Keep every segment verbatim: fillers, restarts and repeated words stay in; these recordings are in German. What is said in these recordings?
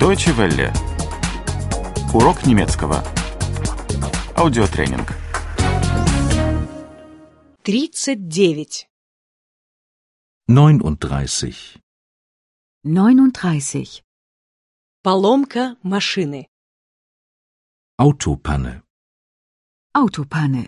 Deutsche Welle. Урок немецкого. Аудиотренинг. тридцать девять. neununddreißig. neununddreißig. Поломка машины. Autopanne. Autopanne.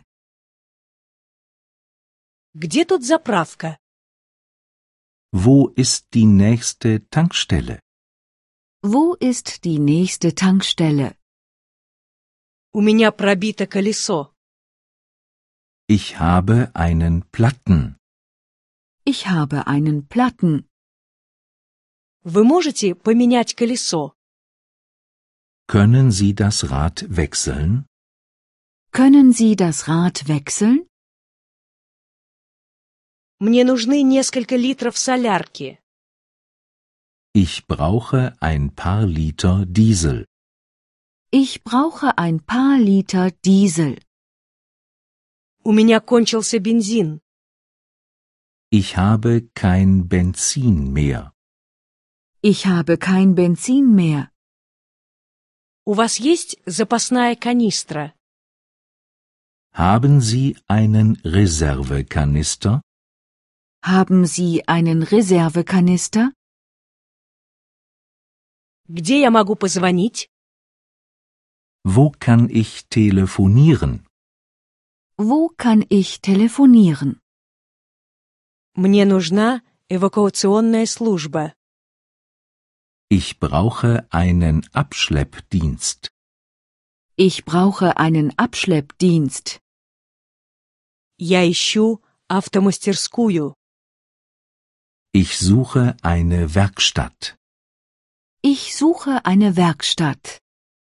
Где тут заправка? Wo ist die nächste Tankstelle? Wo ist die nächste Tankstelle? У меня пробито колесо. Ich habe einen Platten. Ich habe einen Platten. Вы можете поменять колесо? Können Sie das Rad wechseln? Können Sie das Rad wechseln? Мне нужны несколько литров солярки. Ich brauche ein paar Liter Diesel. Ich brauche ein paar Liter Diesel. У меня кончился бензин. Ich habe kein Benzin mehr. Ich habe kein Benzin mehr. У вас есть запасная канистра? Haben Sie einen Reservekanister? Haben Sie einen Reservekanister? Где я могу позвонить? Wo kann ich telefonieren? Wo kann ich telefonieren? Мне нужна эвакуационная служба. Ich brauche einen Abschleppdienst. Ich brauche einen Abschleppdienst. Я ищу автомастерскую. Ich suche eine Werkstatt. Ich suche eine Werkstatt.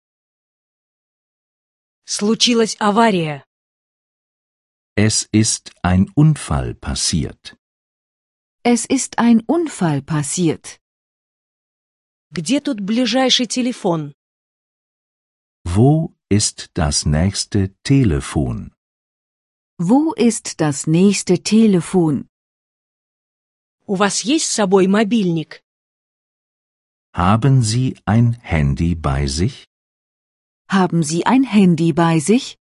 Случилась авария. Es ist ein Unfall passiert. Es ist ein Unfall passiert. Где тут ближайший телефон? Wo ist das nächste Telefon? Wo ist das nächste Telefon? У вас есть с собой мобильник? Haben Sie ein Handy bei sich? Haben Sie ein Handy bei sich?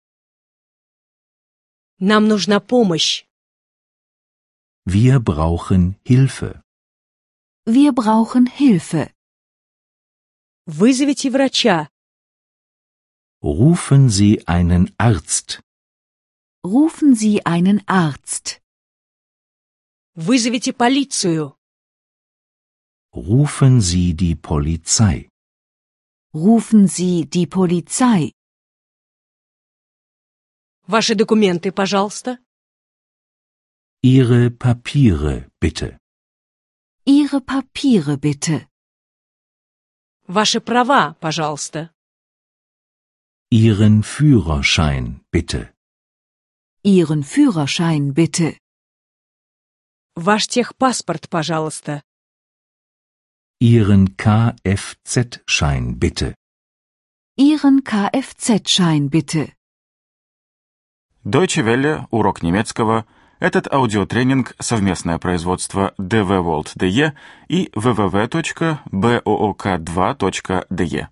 Нам нужна помощь. Wir brauchen Hilfe. Wir brauchen Hilfe. Вызовите врача. Rufen Sie einen Arzt. Rufen Sie einen Arzt. Вызовите полицию. Rufen Sie die Polizei. Rufen Sie die Polizei. Ваши документы, пожалуйста. Ihre Papiere, bitte. Ihre Papiere bitte. Ваши права, пожалуйста. Ihren Führerschein, bitte. Ihren Führerschein bitte. Ваш техпаспорт, пожалуйста. Ihren Kfz-Schein, bitte. Ihren Kfz-Schein bitte. Deutsche Welle. Урок немецкого. Этот аудиотренинг — совместное производство дэ вэ World точка дэ и дабл ю дабл ю дабл ю точка боок два точка дэ и.